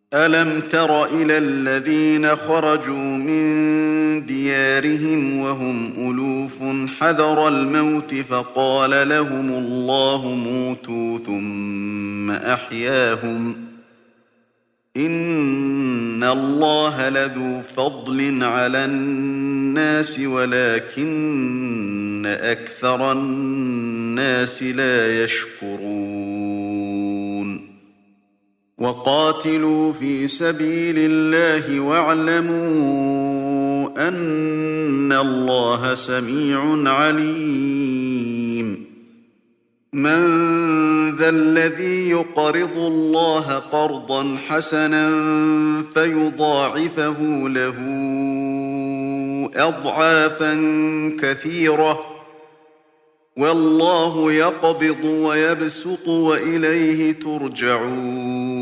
أَلَمْ تَرَ إِلَى الَّذِينَ خَرَجُوا مِن دِيَارِهِمْ وَهُمْ أُلُوفٌ حَذَرَ الْمَوْتِ فَقَالَ لَهُمُ اللَّهُ مُوتُوا ثُمَّ أَحْيَاهُمْ ۚ إِنَّ اللَّهَ لَذُو فَضْلٍ عَلَى النَّاسِ وَلَٰكِنَّ أَكْثَرَ النَّاسِ لَا يَشْكُرُونَ وَقَاتِلُوا فِي سَبِيلِ اللَّهِ وَاعْلَمُوا أَنَّ اللَّهَ سَمِيعٌ عَلِيمٌ مَّن ذَا الَّذِي يُقْرِضُ اللَّهَ قَرْضًا حَسَنًا فَيُضَاعِفَهُ لَهُ أَضْعَافًا كَثِيرَةً ۚ وَاللَّهُ يَقْبِضُ وَيَبْسُطُ وَإِلَيْهِ تُرْجَعُونَ